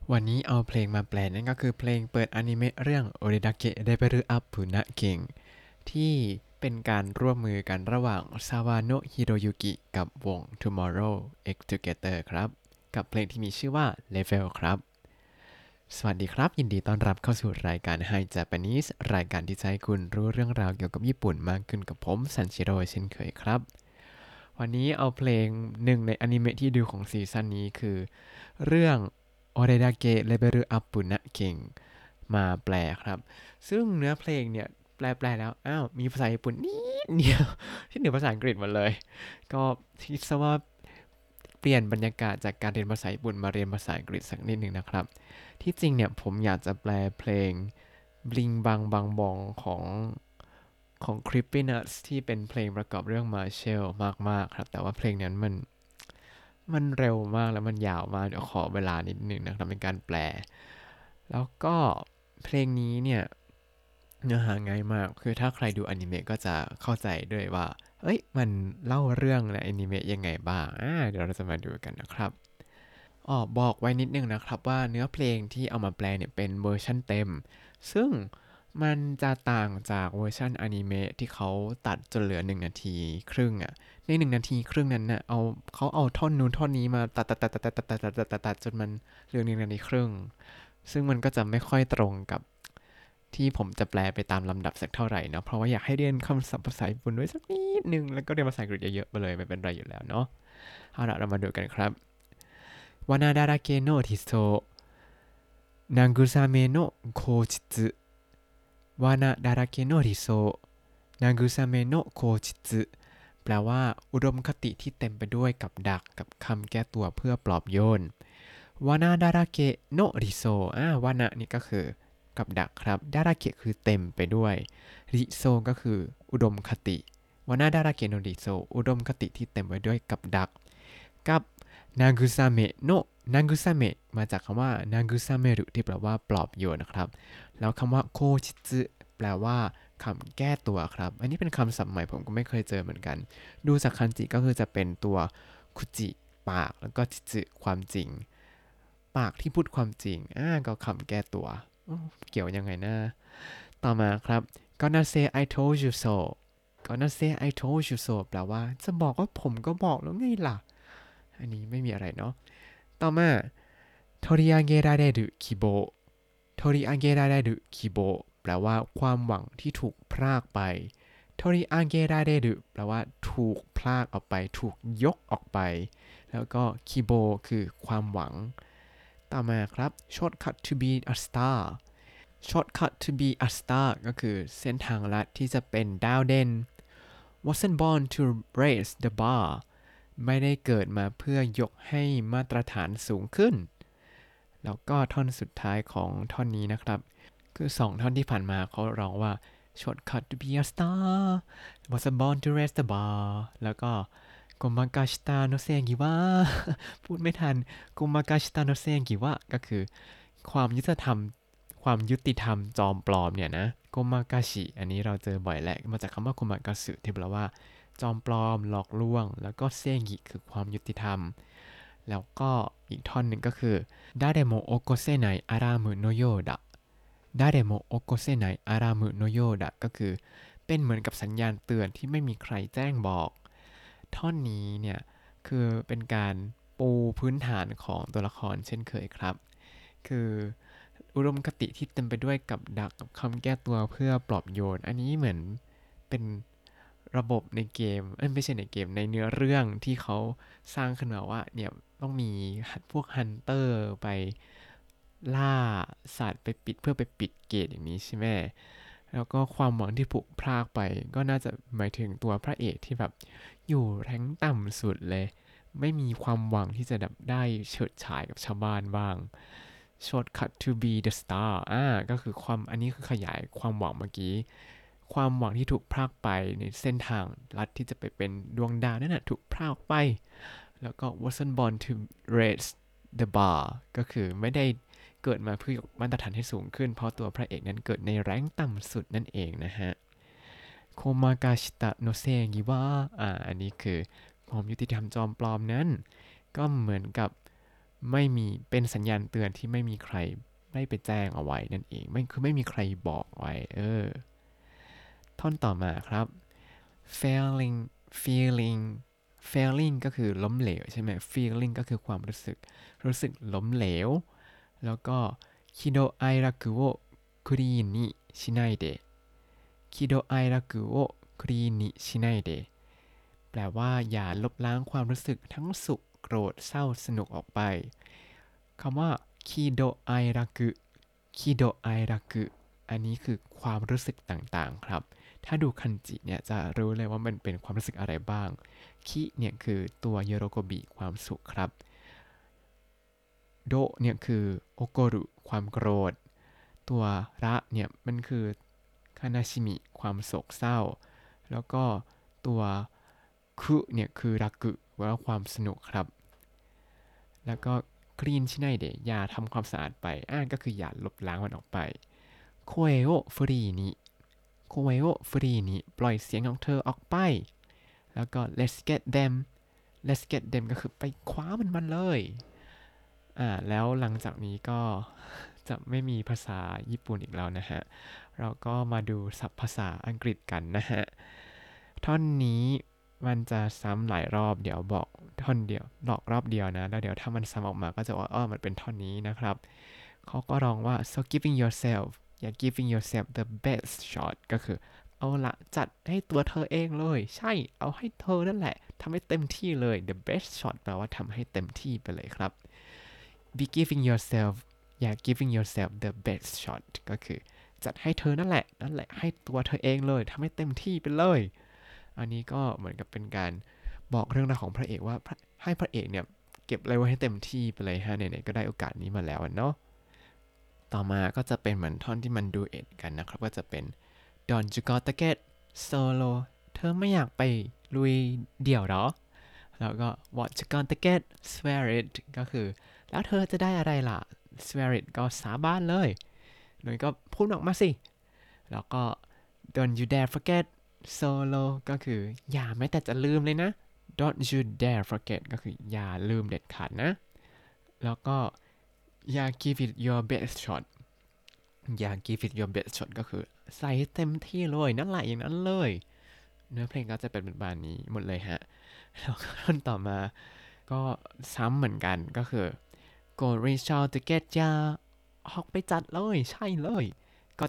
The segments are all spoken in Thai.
วันนี้เอาเพลงมาแปลนั่นก็คือเพลงเปิดอนิเมะเรื่องโอเรดาเกะเดเบรุอัพปุนะเก่งที่เป็นการร่วมมือกันระหว่างซาวาโนะฮิโรยุกิกับวง Tomorrow X Together ครับกับเพลงที่มีชื่อว่า Level ครับสวัสดีครับยินดีต้อนรับเข้าสู่รายการ Hi Japanese รายการที่จะให้คุณรู้เรื่องราวเกี่ยวกับญี่ปุ่นมากขึ้นกับผมซันชิโร่เช่นเคยครับวันนี้เอาเพลงหนึ่งในอนิเมะที่ดูของซีซั่นนี้คือเรื่อง โอเรดาเกะเลเบルอัพปุนะเก่งมาแปลครับซึ่งเนื้อเพลงเนี่ยแปลแล้วอ้าวมีภาษาญี่ปุ่นนิดเดียวที่เหนือภาษาอังกฤษหมดเลยก็คิดซะว่าเปลี่ยนบรรยากาศจากการเรียนภาษาญี่ปุ่นมาเรียนภาษาอังกฤษสักนิดหนึ่งนะครับที่จริงเนี่ยผมอยากจะแปลเพลงบลิงบังบังบองของ Creepy Nuts ที่เป็นเพลงประกอบเรื่อง Marshall มากๆครับแต่ว่าเพลงนั้นมันเร็วมากแล้วมันยาวมากเดี๋ยวขอเวลานิดนึงนะครับในการแปลแล้วก็เพลงนี้เนี่ยเนื้อหาง่ายมากคือถ้าใครดูอนิเมะก็จะเข้าใจด้วยว่าเอ้ยมันเล่าเรื่องในอนิเมะยังไงบ้างเดี๋ยวเราจะมาดูกันนะครับบอกไว้นิดนึงนะครับว่าเนื้อเพลงที่เอามาแปลเนี่ยเป็นเวอร์ชั่นเต็มซึ่งมันจะต่างจากเวอร์ชันอนิเมะที่เขาตัดจนเหลือ1 นาทีครึ่งใน1 นาทีครึ่งนั้นน่ะเขาเอาท่อนนู้นท่อนนี้มาตัดจนมันเหลือ1 นาทีครึ่งซึ่งมันก็จะไม่ค่อยตรงกับที่ผมจะแปลไปตามลำดับสักเท่าไหร่เนาะเพราะว่าอยากให้เรียนคำศัพท์ภาษาญี่ปุ่นด้วยสักนิดนึงแล้วก็เรียนภาษาอังกฤษเยอะๆไปเลยไม่เป็นไรอยู่แล้วเนาะเอาละเรามาดูกันครับวานาดาราเกโนทิโซ慰めの口実罠だらけの理想慰めの口実แปลว่าอุดมคติที่เต็มไปด้วยกับดักกับคำแก้ตัวเพื่อปลอบโยนวานาดาราเกะโนริโซวานะนี่ก็คือกับดักครับดาราเกะคือเต็มไปด้วยริโซก็คืออุดมคติวานาดาราเกะโนริโซอุดมคติที่เต็มไปด้วยกับดักกับนากุซาเมะโนนากุซาเมะมาจากคำว่านากุซาเมรุที่แปลว่าปลอบโยนนะครับแล้วคำว่าโคชิซึแปลว่าคำแก้ตัวครับอันนี้เป็นคำศัพท์ใหม่ผมก็ไม่เคยเจอเหมือนกันดูจากคันจิก็คือจะเป็นตัวคุจิปากแล้วก็จิซึความจริงปากที่พูดความจริงก็คำแก้ตัวเกี่ยวยังไงนะต่อมาครับ gonna say I told you so gonna say I told you so แปลว่าจะบอกว่าผมก็บอกแล้วไงล่ะอันนี้ไม่มีอะไรเนาะต่อมา取り上げられる希望取り上げられる希望แปลว่าความหวังที่ถูกพรากไป取り上げられるแปลว่าถูกพรากออกไปถูกยกออกไปแล้วก็คิโบคือความหวังต่อมาครับ shortcut to be a star shortcut to be a star ก็คือเส้นทางลัดที่จะเป็นดาวเด่น wasn't born to raise the bar ไม่ได้เกิดมาเพื่อยกให้มาตรฐานสูงขึ้นแล้วก็ท่อนสุดท้ายของท่อนนี้นะครับคือ2 ท่อนที่ผ่านมาเขาร้องว่า shortcut to be a star wasn't born to raise the bar แล้วก็โกมากาชิตาโนเซงิวะพูดไม่ทันโกมากาชิตาโนเซงิวะก็คือความยุติธรรมจอมปลอมเนี่ยนะโกมากาชิอันนี้เราเจอบ่อยแหละมาจากคำว่าโกมากาสึที่แปลว่าจอมปลอมหลอกลวงแล้วก็เซงิคือความยุติธรรมแล้วก็อีกท่อนหนึ่งก็คือ誰も起こせないアラームのようだ誰も起こせないアラームのようだก็คือเป็นเหมือนกับสัญญาณเตือนที่ไม่มีใครแจ้งบอกท่อนนี้เนี่ยคือเป็นการปูพื้นฐานของตัวละครเช่นเคยครับคืออุดมคติที่เต็มไปด้วยกับดักกับคำแก้ตัวเพื่อปลอบโยนอันนี้เหมือนเป็นระบบในเกมไม่ใช่ในเกมในเนื้อเรื่องที่เขาสร้างขึ้นมาว่าเนี่ยต้องมีพวกฮันเตอร์ไปล่าสัตว์ไปปิดเพื่อไปปิดเกตอย่างนี้ใช่ไหมแล้วก็ความหวังที่ผุพรากไปก็น่าจะหมายถึงตัวพระเอกที่แบบอยู่แรงต่ำสุดเลยไม่มีความหวังที่จะแบบได้เฉิดฉายกับชาวบ้านบ้าง shortcut to be the star ก็คือความอันนี้คือขยายความหวังเมื่อกี้ความหวังที่ถูกพรากไปในเส้นทางลัดที่จะไปเป็นดวงดาวนั่นนะถูกพรากไปแล้วก็ wasn't born to raise the bar ก็คือไม่ได้เกิดมาเพื่อยกมาตรฐานให้สูงขึ้นเพราะตัวพระเอกนั้นเกิดในแรงต่ำสุดนั่นเองนะฮะโคมากาชิตะโนเซงิวะอันนี้คือความยุติธรรมจอมปลอมนั้นก็เหมือนกับไม่มีเป็นสัญญาณเตือนที่ไม่มีใครได้ไปแจ้งเอาไว้นั่นเองไม่มีใครบอกไว้ท่อนต่อมาครับ failing feeling failing ก็คือล้มเหลวใช่ไหม feeling ก็คือความรู้สึกล้มเหลวแล้วก็喜怒哀楽をクリーンにしないで喜怒哀楽をクリーンにしないでแปลว่าอย่าลบล้างความรู้สึกทั้งสุขโกรธเศร้าสนุกออกไปคำว่าคิโดไอรักุคิโดไอรักุอันนี้คือความรู้สึกต่างๆครับถ้าดูคันจิเนี่ยจะรู้เลยว่ามันเป็นความรู้สึกอะไรบ้างคิเนี่ยคือตัวโยโรโกบิความสุขครับโดเนี่ยคือโอโกรุความโกรธตัวระเนี่ยมันคือคานาชิมิความโศกเศร้าแล้วก็ตัวคุเนี่ยคือรักุว่าความสนุกครับแล้วก็คลีนชิไนเดะอย่าทำความสะอาดไปก็คืออย่าลบล้างมันออกไปโคเอโอฟรีนิโคเอโอฟรีนิปล่อยเสียงของเธอออกไปแล้วก็ let's get them ก็คือไปคว้ามันเลยแล้วหลังจากนี้ก็จะไม่มีภาษาญี่ปุ่นอีกแล้วนะฮะเราก็มาดูศัพท์ภาษาอังกฤษกันนะฮะท่อนนี้มันจะซ้ำหลายรอบเดี๋ยวบอกท่อนเดียวบอกรอบเดียวนะแล้วเดี๋ยวถ้ามันซ้ำออกมาก็จะว่ามันเป็นท่อนนี้นะครับเขาก็ร้องว่า so giving yourself อย่า giving yourself the best shot ก็คือเอาละจัดให้ตัวเธอเองเลยใช่เอาให้เธอนั่นแหละทำให้เต็มที่เลย the best shot แปลว่าทำให้เต็มที่ไปเลยครับ be giving yourself อย่า giving yourself the best shot ก็คือจัดให้เธอนั่นแหละให้ตัวเธอเองเลยทำให้เต็มที่ไปเลยอันนี้ก็เหมือนกับเป็นการบอกเรื่องราวของพระเอกว่าให้พระเอกเนี่ยเก็บอะไรไว้ให้เต็มที่ไปเลยฮะไหนๆก็ได้โอกาสนี้มาแล้วเนาะต่อมาก็จะเป็นเหมือนท่อนที่มันดูเอ็ดกันนะครับก็จะเป็น Don't you gotta get solo เธอไม่อยากไปลุยเดี่ยวหรอแล้วก็ What you gotta get swear it ก็คือแล้วเธอจะได้อะไรล่ะ swear it ก็สาบานเลยหน่อยก็พูดออกมาสิแล้วก็ Don't you dare forget solo ก็คืออย่าแม้แต่จะลืมเลยนะ Don't you dare forget ก็คืออย่าลืมเด็ดขาดนะแล้วก็อย่า give it your best shot อย่า give it your best shot ก็คือใส่เต็มที่เลยนั่นแหละอย่างนั้นเลยเนื้อเพลงก็จะเป็นแบบนี้หมดเลยฮะแล้วก็ท่อนต่อมาก็ซ้ำเหมือนกันก็คือ go reach out to get ya ออกไปจัดเลยใช่เลยก็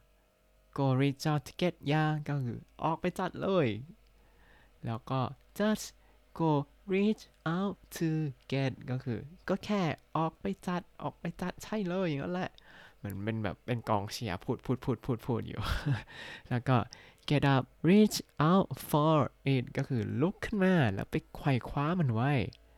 go reach out to get ya ก็คือออกไปจัดเลยแล้วก็ just go reach out to get ก็คือก็แค่ออกไปจัดใช่เลยอย่างนั้นแหละเหมือนเป็นแบบเป็นกองเชียร์พูดอยู่ แล้วก็ get up reach out for it ก็คือลุกขึ้นมาแล้วไปไขว่คว้ามันไว้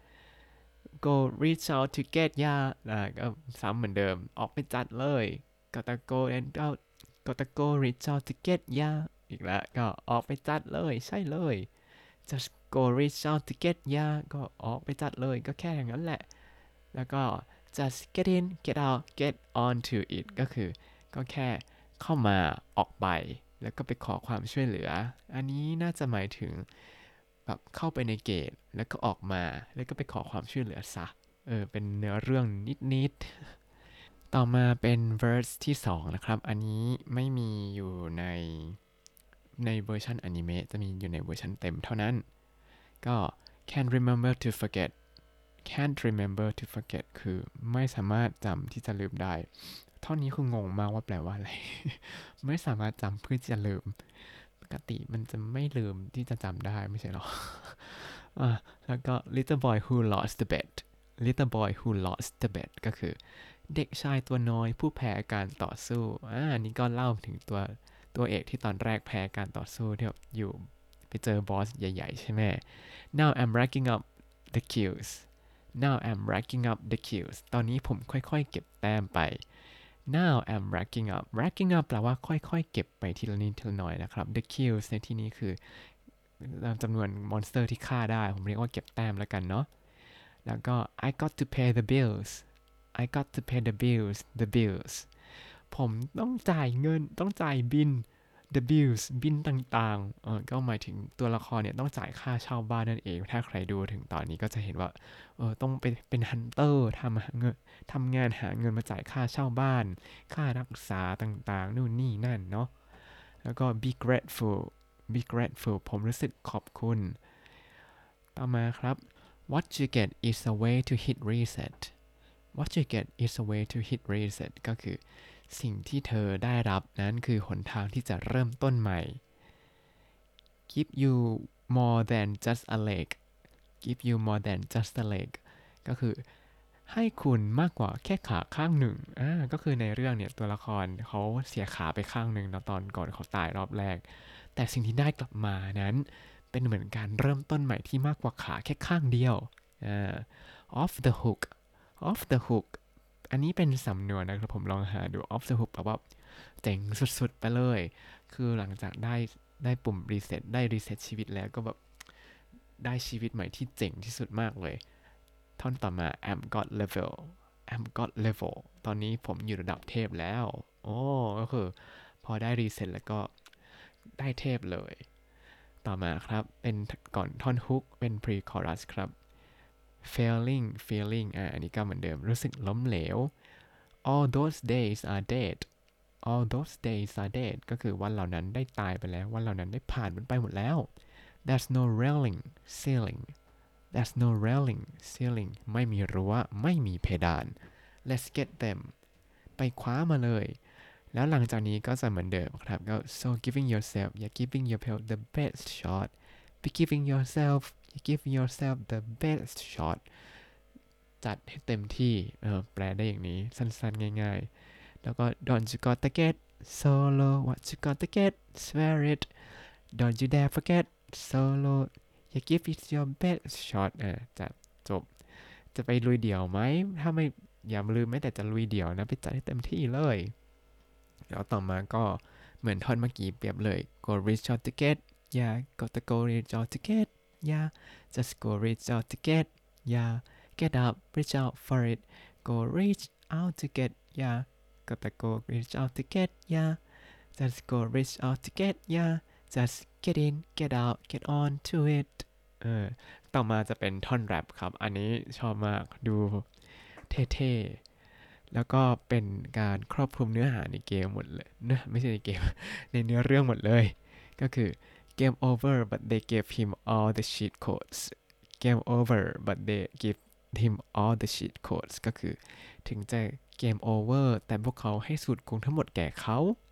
go reach out to get ya ก็ซ้ำเหมือนเดิมออกไปจัดเลยก็ตะโกน out ก็ตะโก reach out to get ya อีกแล้วก็ออกไปจัดเลยใช่เลย just go reach out to get ya ก็ออกไปจัดเลยก็แค่อย่างนั้นแหละแล้วก็ just get in get out get on to it ก็คือก็แค่เข้ามาออกไปแล้วก็ไปขอความช่วยเหลืออันนี้น่าจะหมายถึงแบบเข้าไปในเกตแล้วก็ออกมาแล้วก็ไปขอความช่วยเหลือซะเป็นเนื้อเรื่องนิดๆต่อมาเป็น verse ที่2นะครับอันนี้ไม่มีอยู่ในเวอร์ชันอนิเมะจะมีอยู่ในเวอร์ชันเต็มเท่านั้นก็ can't remember to forget can't remember to forget คือไม่สามารถจำที่จะลืมได้ท่อนนี้คืองงมากว่าแปลว่าอะไร ไม่สามารถจำเพื่อจะลืมปกติมันจะไม่ลืมที่จะจำได้ไม่ใช่หรอ แล้วก็ little boy who lost the bet little boy who lost the bet ก็คือเด็กชายตัวน้อยผู้แพ้การต่อสู้อันนี้ก็เล่าถึงตัวเอกที่ตอนแรกแพ้การต่อสู้ที่แบบอยู่ไปเจอบอสใหญ่ๆใช่ไหม now I'm racking up the kills now I'm racking up the kills ตอนนี้ผมค่อยๆเก็บแต้มไป now I'm racking up แปลว่าค่อยๆเก็บไปทีละนิดทีละหน่อยนะครับ the kills ในที่นี้คือจำนวนมอนสเตอร์ที่ฆ่าได้ผมเรียกว่าเก็บแต้มแล้วกันเนาะแล้วก็ I got to pay the bills I got to pay the bills ผมต้องจ่ายเงินต้องจ่ายบิน the bills บินต่างๆก็หมายถึงตัวละครเนี่ยต้องจ่ายค่าเช่าบ้านนั่นเองถ้าใครดูถึงตอนนี้ก็จะเห็นว่าต้องเป็นฮันเตอร์ทำงานหาเงินมาจ่ายค่าเช่าบ้านค่ารักษาต่างๆนู่นนี่นั่นเนาะแล้วก็ be grateful ผมรู้สึกขอบคุณต่อมาครับ what you get is a way to hit reset what you get is a way to hit reset ก็คือสิ่งที่เธอได้รับนั้นคือหนทางที่จะเริ่มต้นใหม่ give you more than just a leg give you more than just a leg ก็คือให้คุณมากกว่าแค่ขาข้างหนึ่งก็คือในเรื่องเนี่ยตัวละครเขาเสียขาไปข้างหนึ่งนะตอนก่อนเขาตายรอบแรกแต่สิ่งที่ได้กลับมานั้นเป็นเหมือนการเริ่มต้นใหม่ที่มากกว่าขาแค่ข้างเดียวoff the hook off the hook อันนี้เป็นสำนวนนะครับผมลองหาดู off the hook แปลว่าเจ๋งสุดๆไปเลยคือหลังจากได้ปุ่มรีเซ็ตได้รีเซ็ตชีวิตแล้วก็แบบได้ชีวิตใหม่ที่เจ๋งที่สุดมากเลยท่อนต่อมา I'm god level ตอนนี้ผมอยู่ระดับเทพแล้วก็คือพอได้รีเซ็ตแล้วก็ได้เทพเลยต่อมาครับเป็นก่อนท่อนฮุกเป็น pre chorus ครับ feeling อันนี้ก็เหมือนเดิมรู้สึกล้มเหลว all those days are dead all those days are dead ก็คือวันเหล่านั้นได้ตายไปแล้ววันเหล่านั้นได้ผ่านมันไปหมดแล้ว there's no railing ceiling there's no railing ceiling ไม่มีรั้วไม่มีเพดาน let's get them ไปคว้ามาเลยแล้วหลังจากนี้ก็จะเหมือนเดิมครับก็ so giving yourself giving yourself the best shot be giving yourself giving yourself the best shot จัดให้เต็มที่แปลได้อย่างนี้สั้นๆง่ายๆแล้วก็ don't you gotta get solo what you gotta get swear it don't you dare forget solo give it your best shot จะจบจะไปลุยเดี่ยวไหมถ้าไม่อย่าลืมแม้แต่จะลุยเดี่ยวนะไปจัดให้เต็มที่เลยแล้วต่อมาก็เหมือนท่อนเมื่อกี้เปรียบเลย go reach out to get yeah gotta go reach out to get yeah just go reach out to get yeah get up reach out for it go reach out to get yeah gotta go reach out to get yeah just go reach out to get yeah just get in get out get on to it ต่อมาจะเป็นท่อนแรปครับอันนี้ชอบมากดูเท่ๆแล้วก็เป็นการครอบคลุมเนื้อหาในเกมหมดเลยนะไม่ใช่ในเกม ในเนื้อเรื่องหมดเลยก็คือ game over but they gave him all the cheat codes game over but they give him all the cheat codes ก็คือถึงจะเกม over แต่พวกเขาให้สูตรโกงทั้งหมดแก่เขา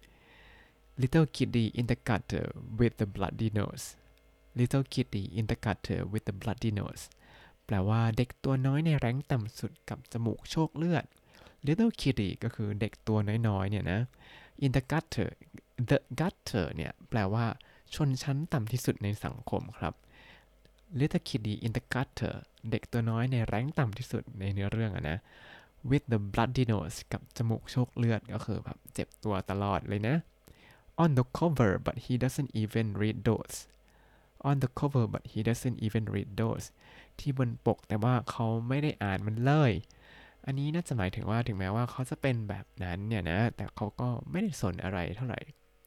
little kitty in the gutter with the bloody nose little kitty in the gutter with the bloody nose แปลว่าเด็กตัวน้อยในแรงต่ำสุดกับจมูกโชคเลือด little kitty ก็คือเด็กตัวน้อยๆเนี่ยนะ in the gutter the gutter เนี่ยแปลว่าชนชั้นต่ำที่สุดในสังคมครับ little kitty in the gutter เด็กตัวน้อยในแรงต่ำที่สุดในเนื้อเรื่องนะ with the bloody nose กับจมูกโชคเลือดก็คือแบบเจ็บตัวตลอดเลยนะ on the cover but he doesn't even read those on the cover but he doesn't even read those ที่บนปกแต่ว่าเขาไม่ได้อ่านมันเลยอันนี้น่าจะหมายถึงว่าถึงแม้ว่าเขาจะเป็นแบบนั้นเนี่ยนะแต่เขาก็ไม่ได้สนอะไรเท่าไหร่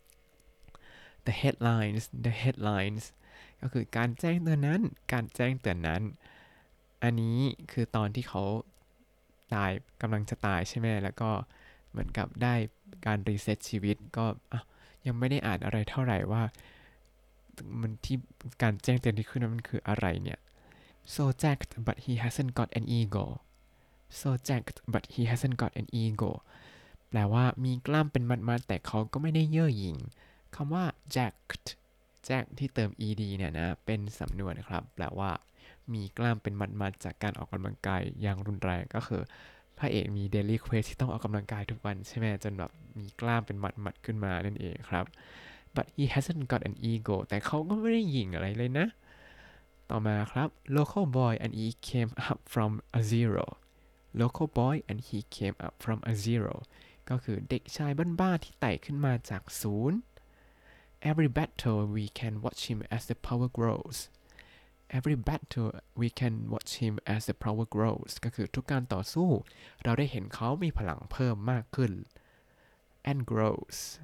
the headlines ก็คือการแจ้งเตือนนั้นอันนี้คือตอนที่เขากำลังจะตายใช่ไหมแล้วก็เหมือนกับได้การรีเซ็ตชีวิตก็ยังไม่ได้อ่านอะไรเท่าไหร่ว่ามันที่การแจ้งเตือนที่ขึ้นมันคืออะไรเนี่ย so jacked but he hasn't got an ego so jacked but he hasn't got an ego แปลว่ามีกล้ามเป็นมัดๆแต่เขาก็ไม่ได้เย่อหยิ่งคำว่า jacked jack ที่เติม ed เนี่ยนะเป็นสำนวนครับแปลว่ามีกล้ามเป็นมัดๆจากการออกกำลังกายอย่างรุนแรงก็คือพระเอกมี daily quest ที่ต้องออกกำลังกายทุกวันใช่ไหมจนแบบมีกล้ามเป็นมัดๆขึ้นมานั่นเองครับ but he hasn't got an ego แต่เขาก็ไม่ได้หยิ่งอะไรเลยนะต่อมาครับ local boy and he came up from a zero local boy and he came up from a zero ก็คือเด็กชายบ้านๆที่ไต่ขึ้นมาจากศูนย์ every battle we can watch him as the power grows every battle we can watch him as the power grows ก็คือทุกการต่อสู้เราได้เห็นเขามีพลังเพิ่มมากขึ้น and grows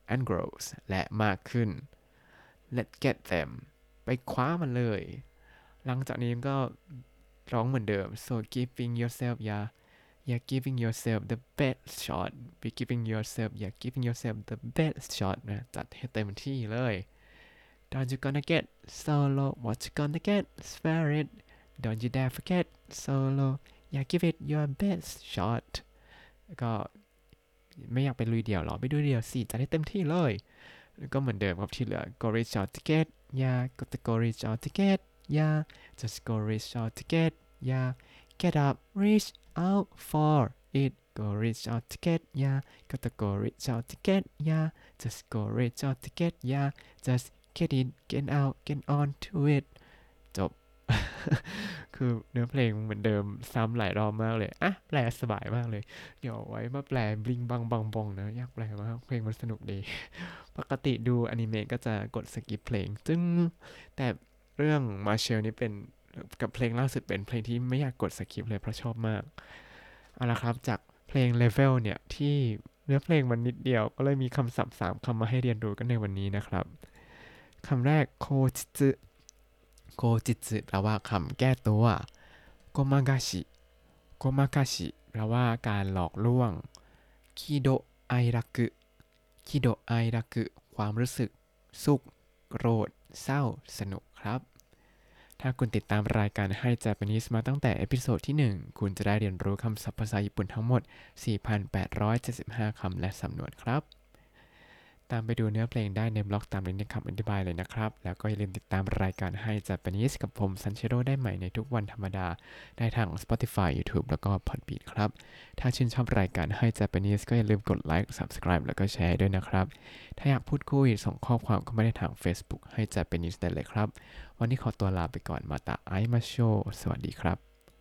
and grows และมากขึ้น let's get them ไปคว้ามันเลยหลังจากนี้ก็ร้องเหมือนเดิม so giving yourself yeah giving yourself the best shot be giving yourself yeah giving yourself the best shot นะจัดให้เต็มที่เลย don't you gonna get solo what you gonna get swear it don't you dare forget solo yeah give it your best shot ก็ไม่อยากไปลุยเดี่ยวหรอไปดูเดี่ยวสิจัดให้เต็มที่เลยแล้วก็เหมือนเดิมครับที่เหลือ go reach out to get yeah go reach out to get yeah just go reach out to get yeah get up reach out for it go reach out to get yeah go reach out to get yeah just go reach out to get yeah just get in get out get on to it จบ คือเนื้อเพลงเหมือนเดิมซ้ำหลายรอบมากเลยอ่ะแปลสบายมากเลยเดี๋ยวไว้มาแปลบลิงบังบังบองนะอยากแปลมากเพลงมันสนุกดี ปกติดูอนิเมะก็จะกดสกิปเพลงซึ่งแต่เรื่องมาเชลนี่เป็นกับเพลงล่าสุดเป็นเพลงที่ไม่อยากกดสกิปเลยเพราะชอบมากเอาละครับจากเพลง Level เนี่ยที่เนื้อเพลงมันนิดเดียวก็เลยมีคำศัพท์3คำมาให้เรียนรู้กันในวันนี้นะครับคำแรกโคจิซึโคจิซึแปลว่าคำแก้ตัวโกมากาชิโกมากาชิแปลว่าการหลอกลวงคิโดไอรักุคิโดไอรักุความรู้สึกสุขโกรธเศร้าสนุกครับถ้าคุณติดตามรายการให้ Japanese มาตั้งแต่เอพิโซดที่ 1คุณจะได้เรียนรู้คำศัพท์ภาษาญี่ปุ่นทั้งหมด 4,875 คำและสำนวนครับตามไปดูเนื้อเพลงได้ในบล็อกตามลิงก์ในคำอธิบายเลยนะครับแล้วก็อย่าลืมติดตามรายการให้ Japanese กับผมซันเชโร่ได้ใหม่ในทุกวันธรรมดาได้ทาง Spotify YouTube แล้วก็ Podbean ครับถ้าชื่นชอบรายการให้ Japanese ก็อย่าลืมกดไลค์ Subscribe แล้วก็แชร์ด้วยนะครับถ้าอยากพูดคุยส่งข้อความเข้ามาได้ทาง Facebook ให้ Japanese ได้เลยครับวันนี้ขอตัวลาไปก่อนมาตาไอมาโชสวัสดีครับ